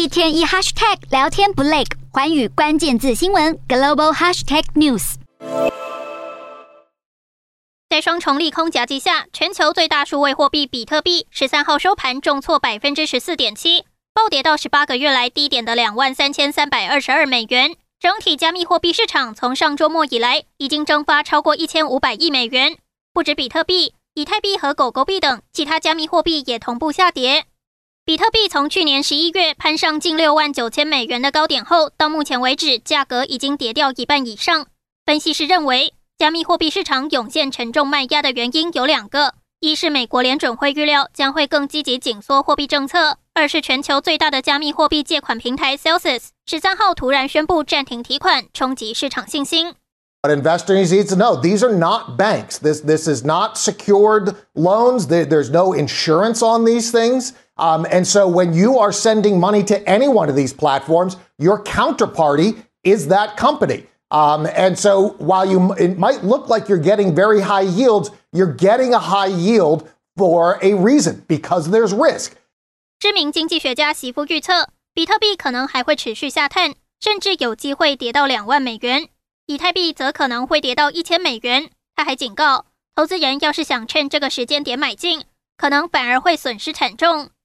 一天一 hashtag 聊天不累，寰宇關鍵字新聞 Global Hashtag News。 在雙重利空夾擊下，全球最大數位貨幣比特幣13號收盤重挫 14.7%， 暴跌到18個月來低點的23,322美元。整體加密貨幣市場從上周末以來，已經蒸發超過1500億美元。不止比特幣，以太幣和狗狗幣等其他加密貨幣也同步下跌。比特幣從去年11月攀上近69000美元的高點後，到目前為止，價格已經跌掉一半以上。分析師認為，加密貨幣市場湧現沉重賣壓的原因有兩個：一是美國聯準會預料將會更積極緊縮貨幣政策；二是全球最大的加密貨幣借款平台 Celsius 13號突然宣布暫停提款，衝擊市場信心。 But investors need to know these are not banks. This is not secured loans. There's no insurance on these things. And so when you are sending money to any one of these platforms, your counterparty is that company. And so while it might look like you're getting very high yields, you're getting a high yield for a reason, because there's risk. 知名經濟學家席夫預測，比特幣可能還會持續下探，甚至有機會跌到2萬美元。以太幣則可能會跌到1000美元。他還警告，投資人要是想趁這個時間點買進，可能反而會損失慘重。